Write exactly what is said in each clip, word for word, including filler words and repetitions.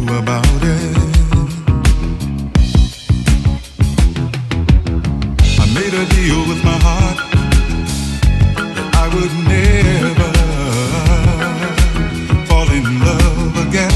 about it? I made a deal with my heart that I would never fall in love again.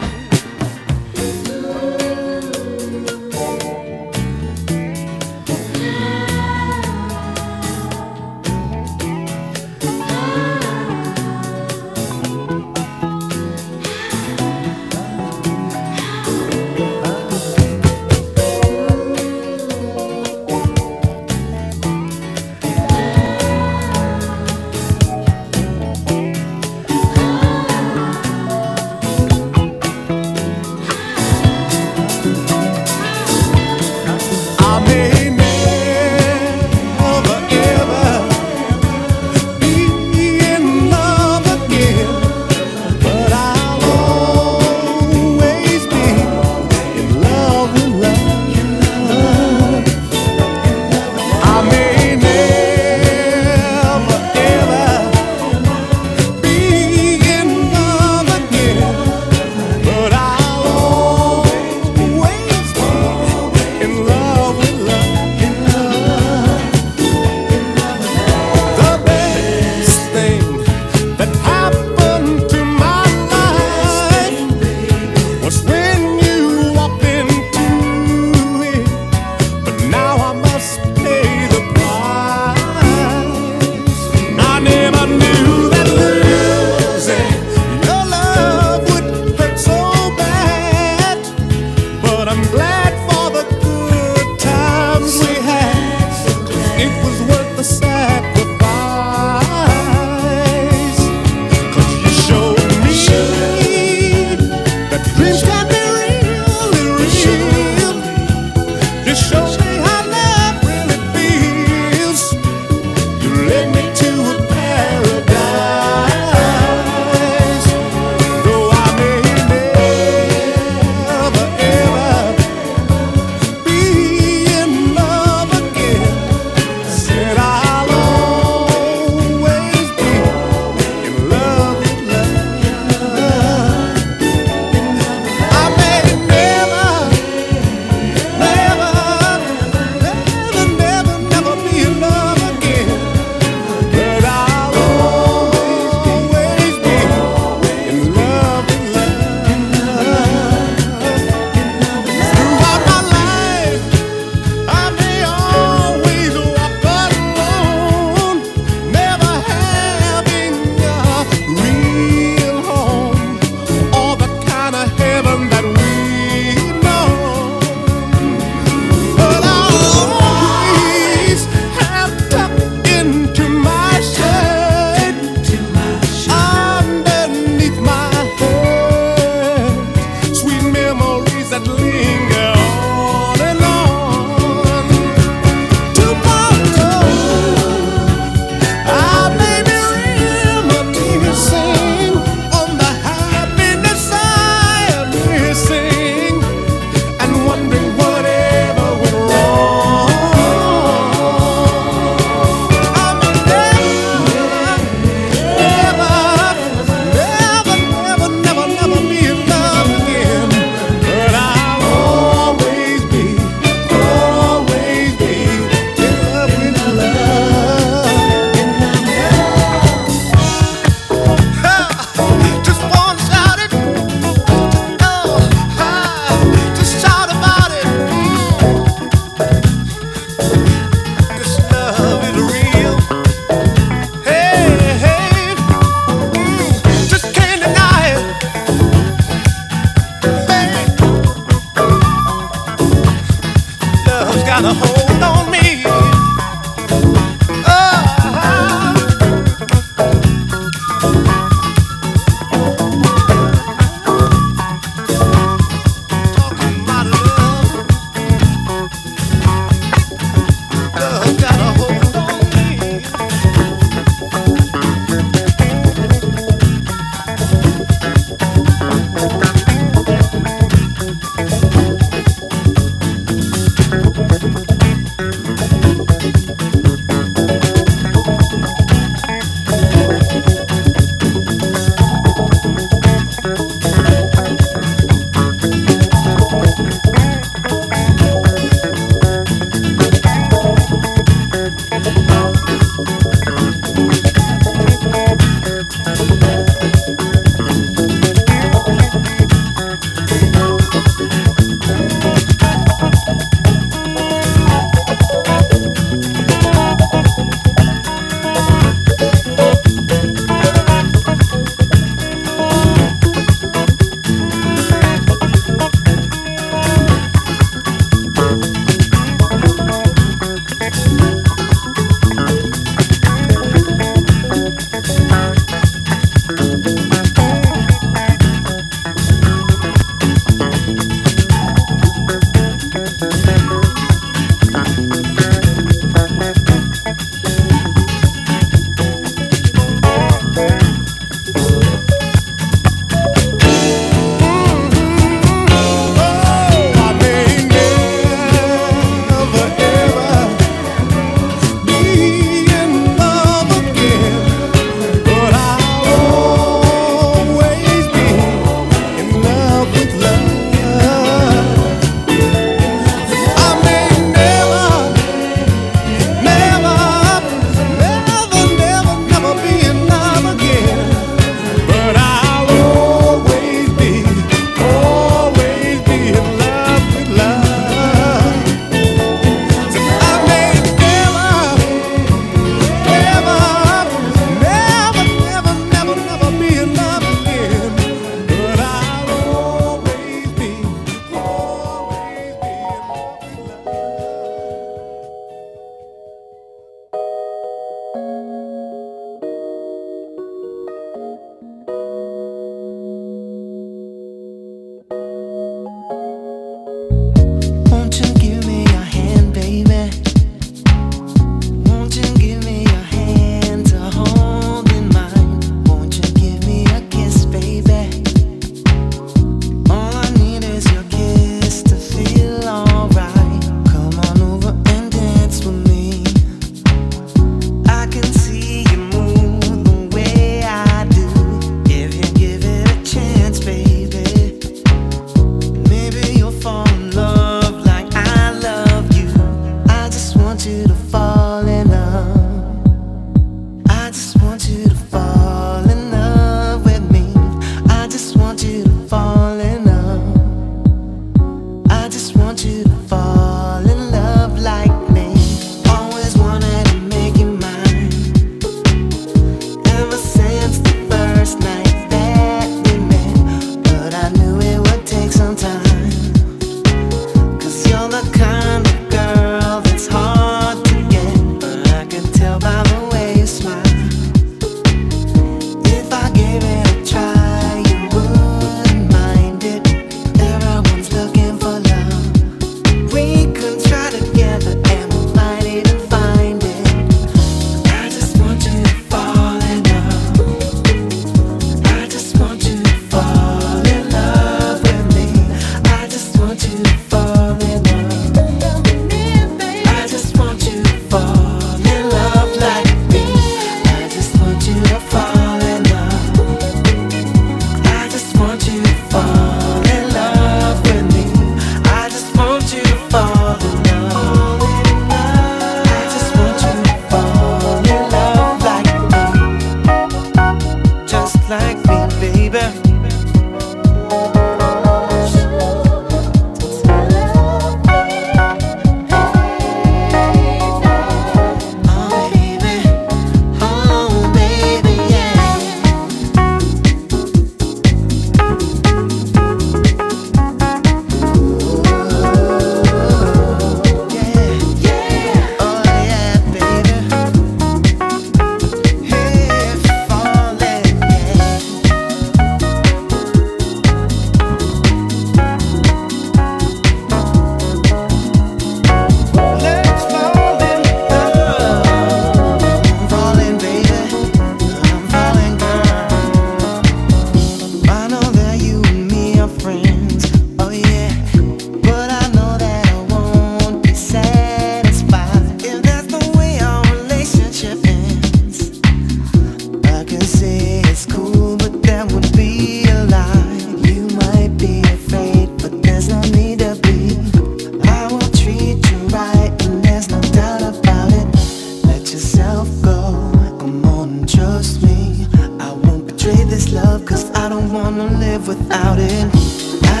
friends. Oh yeah, but I know that I won't be satisfied if that's the way our relationship ends. I can say it's cool, but that would be a lie. You might be afraid, but there's no need to be. I will treat you right, and there's no doubt about it. Let yourself go, come on and trust me. I won't betray this love, cause I don't wanna live without it. I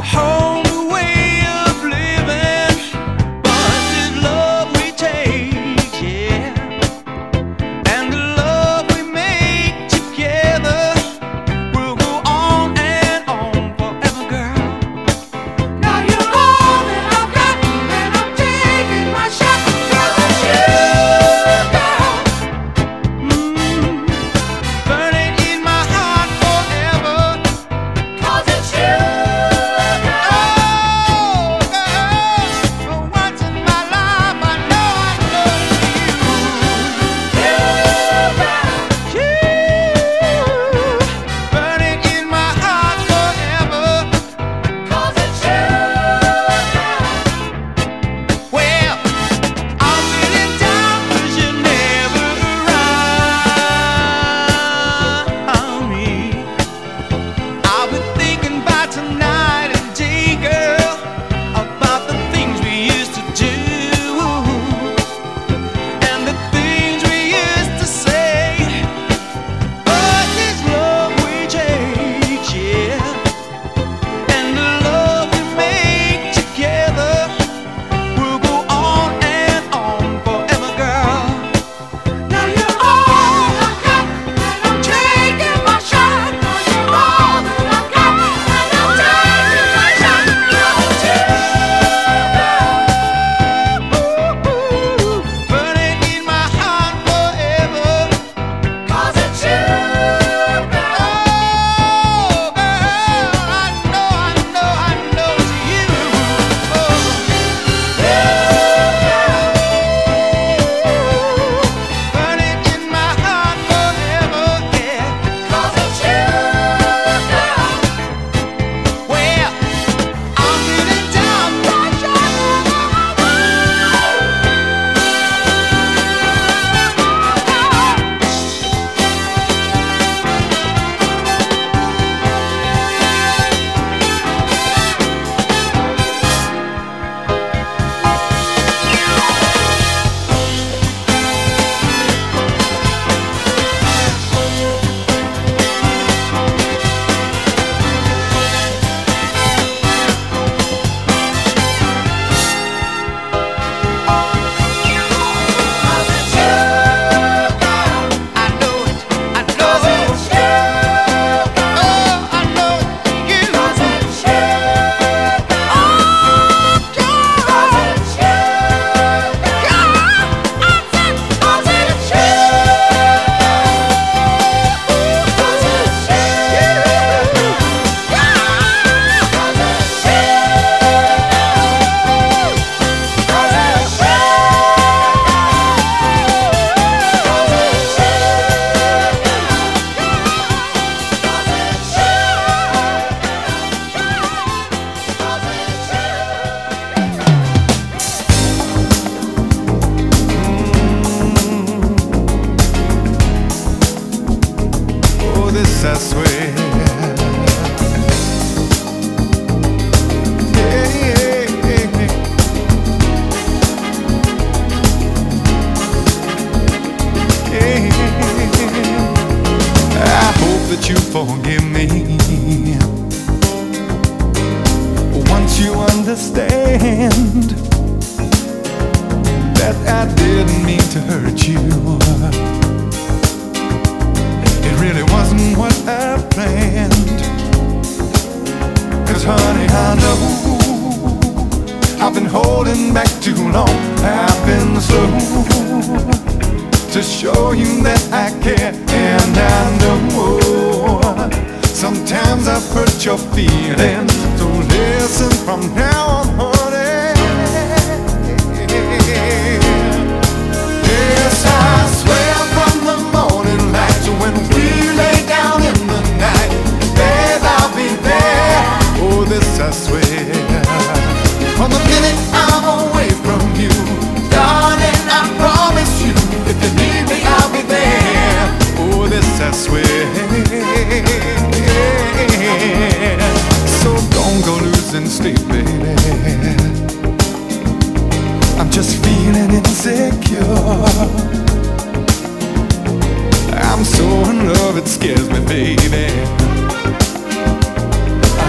I'm so in love, it scares me, baby. I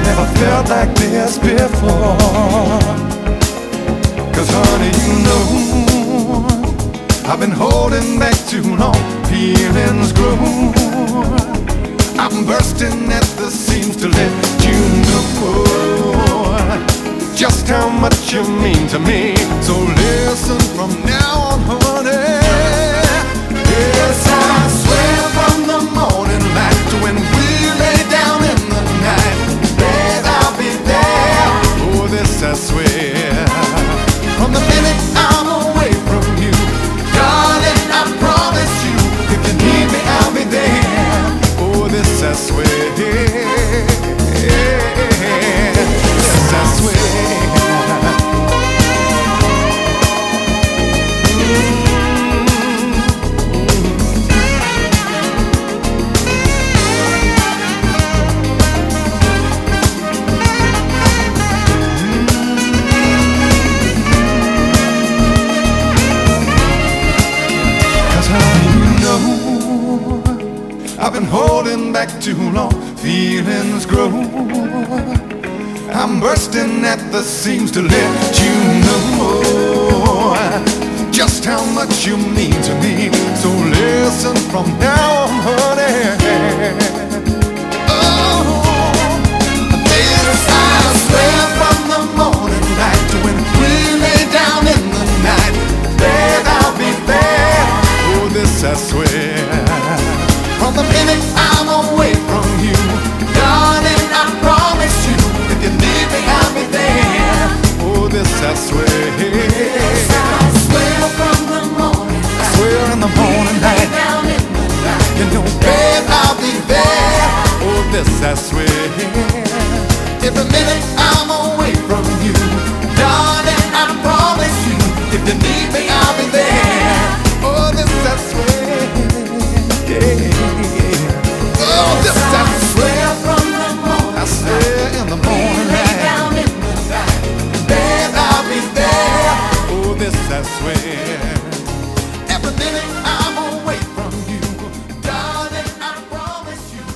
never felt like this before. Cause honey, you know I've been holding back too long. Feelings grow. I'm bursting at the seams to let you know just how much you mean to me. So listen from now on, honey. Yes, I swear from the morning light to when we lay down in the night, babe, I'll be there. Oh, this I swear. From the minute I'm away from you, darling, I promise you, if you need me, I'll be there. Oh, this I swear. Yes, I swear. I've been holding back too long, feelings grow. I'm bursting at the seams to let you know just how much you mean to me. So listen from now on, honey. Oh, this I swear from the morning light to when we lay down in the night, babe, I'll be there. Oh, this I swear. From the minute I'm away from you, darling, I promise you, if you need me, I'll be there. Oh, this I swear. Yes, I swear from the morning light. I swear in the morning light. Down in the night. You know, babe, I'll be there. Oh, this I swear. Every minute I'm away from you, darling, I promise you, if you need me, I'll be there. Oh, this I swear. Yeah. Oh, this I swear from the morning. I swear in the morning light. Down in the night, babe, I'll be there. Oh, this I swear. Every minute I'm away from you, darling, I promise you.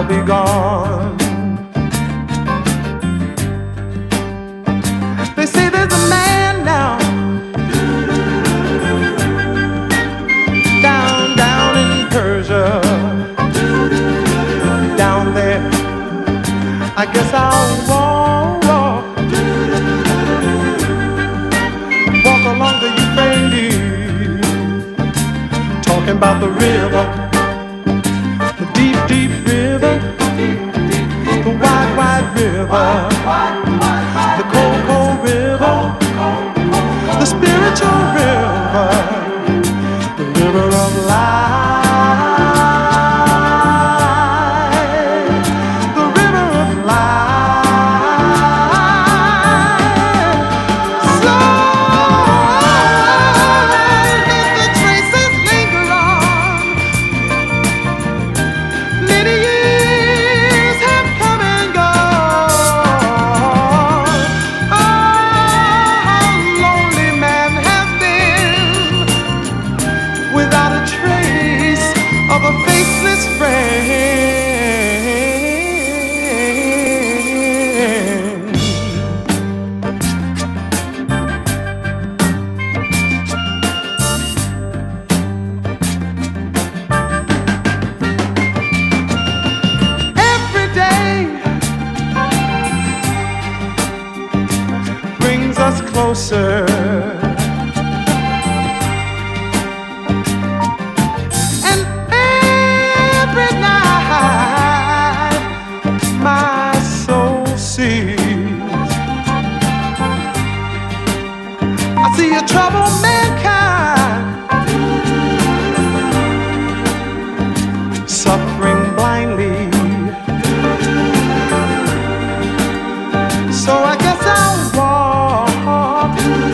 be gone. They say there's a man now down, down in Persia, down there. I guess I'll walk, walk, walk along the Euphrates, talking about the river, the deep, deep river, the wide, wide river, the cold, cold river, the spiritual river, the river of life, the river of life. So let the traces linger on. Many years have come and gone. Oh, how lonely man has been without a trace of a faceless friend. Every day brings us closer, and every night my soul sees. I see a troubled mankind suffering blindly. So I guess I'll walk,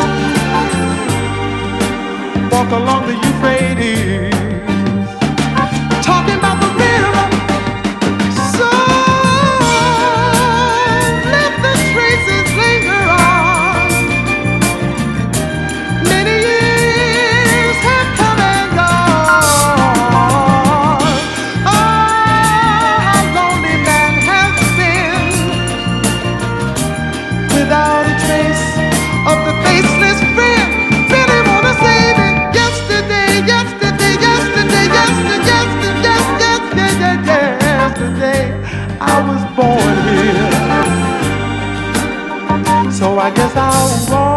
walk along the Euphrates, talking about the river. So let the traces linger on. Many years have come and gone. Oh, how lonely man has been without a trace of the faceless friend. Really wanna save it. Yesterday, yesterday, yesterday, yesterday, yesterday, yesterday, yesterday, I was born here. So I guess I'll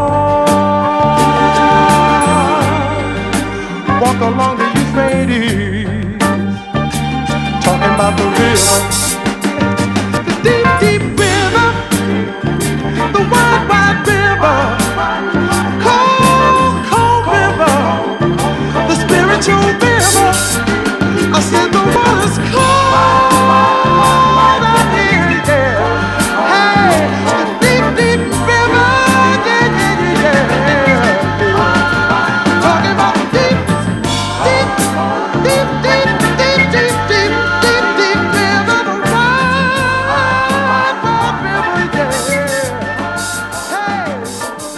walk, walk along the Euphrates, talking about the river, the deep, deep river, the wide, wide river, cold, cold river, the spiritual river. I said the water's cold out here, yeah. Hey, the deep, deep river, yeah, yeah, yeah, yeah. Talking about the deep, deep, deep, deep, deep, deep, deep, deep, deep river, the wide, wide river, yeah. Hey.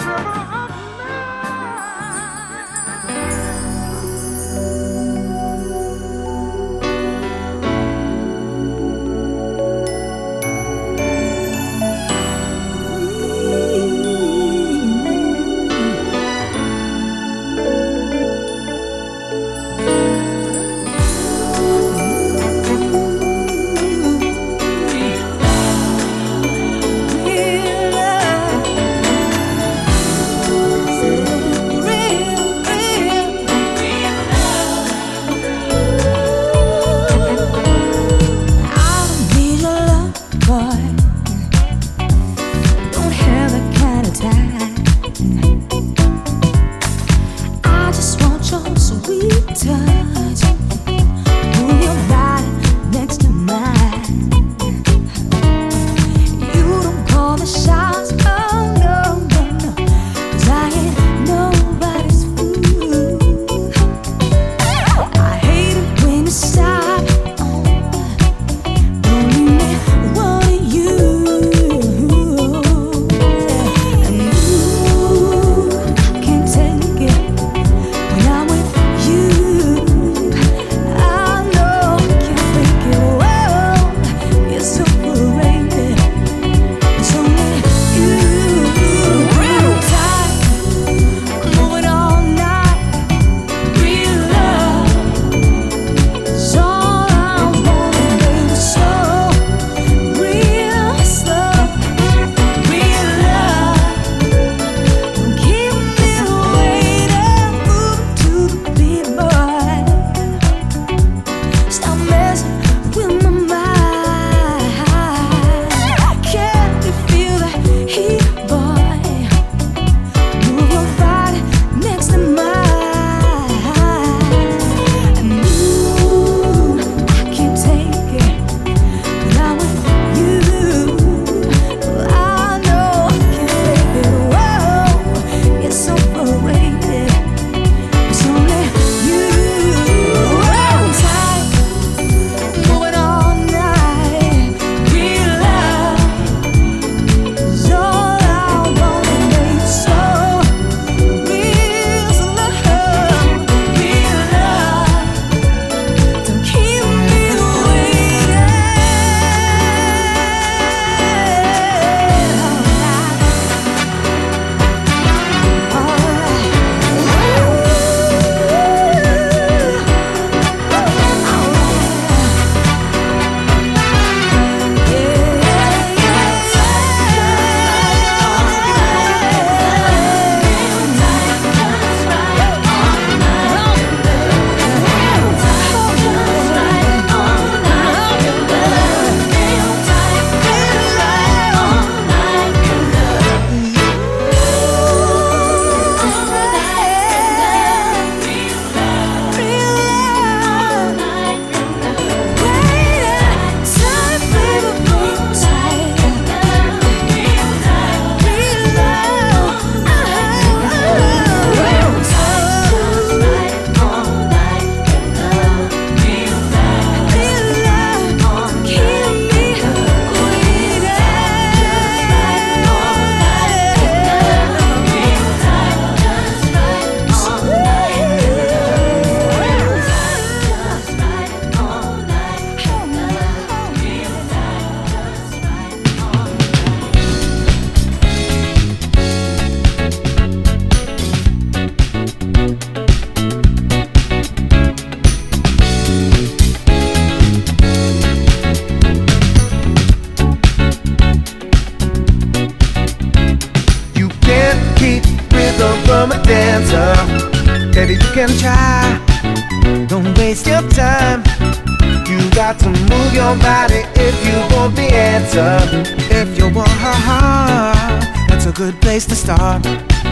can try. Don't waste your time. You got to move your body if you want the answer. If you want her heart, that's a good place to start.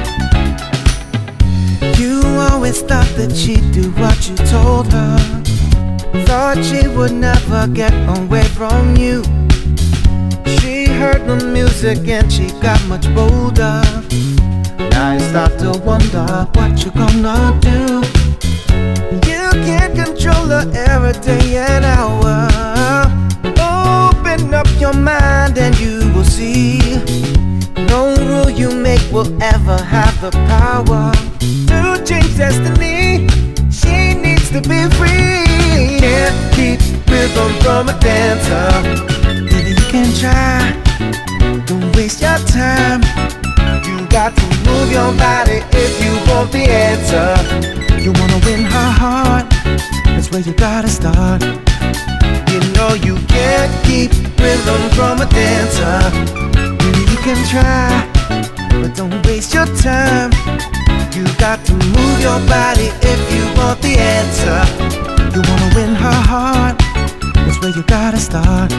You always thought that she'd do what you told her. Thought she would never get away from you. She heard the music and she got much bolder. Now you start to wonder what you gonna do. You can't control her every day and hour. Open up your mind and you will see. No rule you make will ever have the power to change destiny. She needs to be free. Can't keep rhythm from a dancer. Maybe you can try. Don't waste your time. You got to move your body if you want the answer. You wanna win her heart, that's where you gotta start. You know you can't keep rhythm from a dancer. Maybe you can try, but don't waste your time. You got to move your body if you want the answer. You wanna win her heart, that's where you gotta start.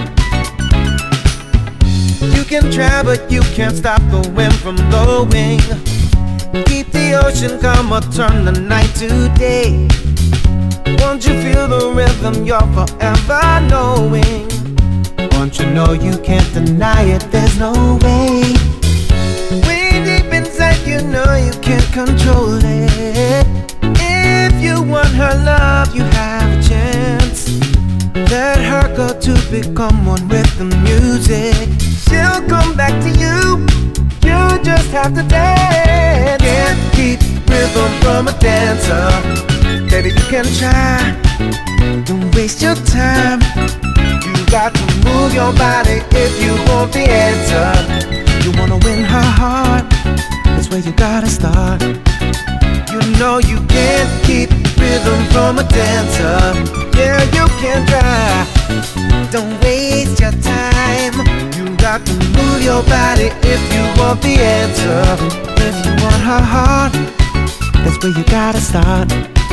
You can try, but you can't stop the wind from blowing. Keep the ocean calm or turn the night to day. Once you feel the rhythm, you're forever knowing. Once you know, you can't deny it, there's no way. Way deep inside, you know you can't control it. If you want her love, you have a chance. Let her go to become one with the music. She'll come back to you. You just have to dance. Can't keep rhythm from a dancer. Baby, you can try. Don't waste your time. You got to move your body if you want the answer. You wanna win her heart, that's where you gotta start. You know you can't keep rhythm from a dancer. Yeah, you can try. Don't waste your time. You got to move your body if you want the answer. If you want her heart, that's where you gotta start.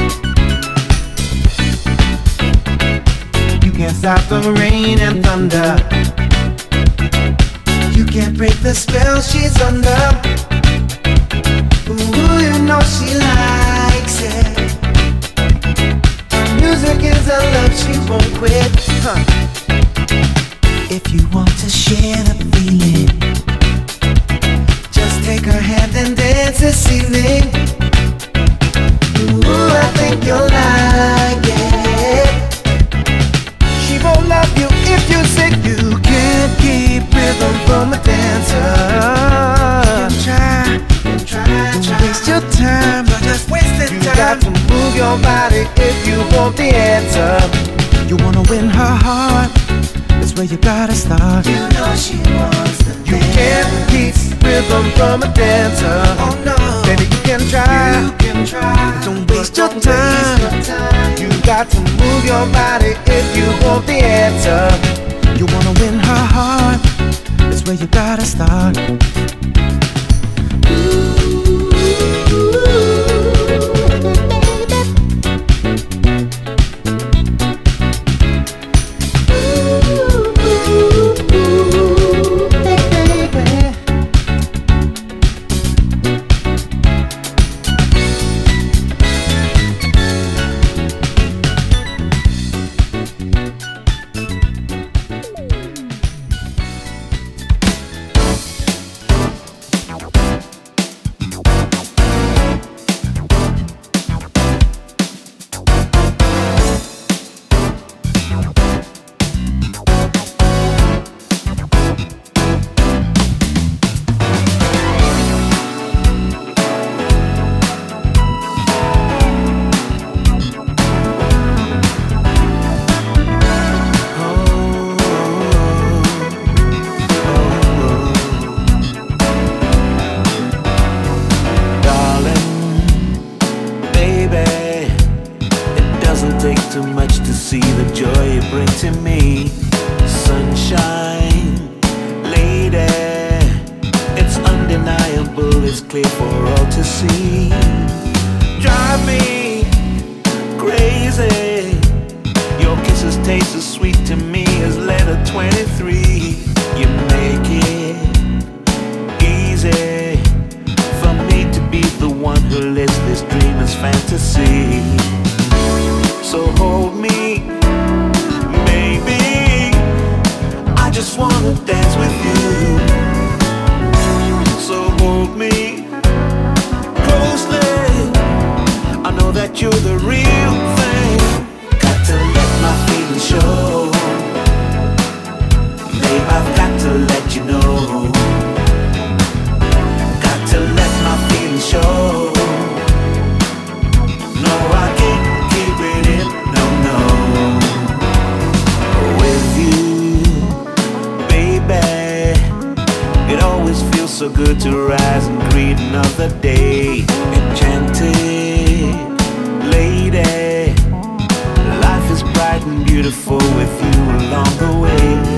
You can't stop the rain and thunder. You can't break the spell she's under. Ooh, you know she likes it. Music is her love, she won't quit. Huh. If you want to share the feeling, just take her hand and dance this evening. Ooh, I think you'll like it. She won't love you if you say you can't keep rhythm from a dancer. Try, try, don't waste your time, don't just waste the time. You got to move your body if you want the answer. You wanna win her heart, that's where you gotta start. You know she wants the dance. You can't keep rhythm from a dancer. Oh no, baby you can try. You can try. Don't waste your time. You got to move your body if you want the answer. You wanna win her heart, that's where you gotta start. clear for all to see. Drive me to dance with you. So hold me closely, I know that you're the real thing. Got to let my feelings show, babe, I've got to let you know. Got to let my feelings show. No, I can't keep it in, no, no. With you, baby, it always feels so good to rise and greet another day. Enchanted lady, life is bright and beautiful with you along the way.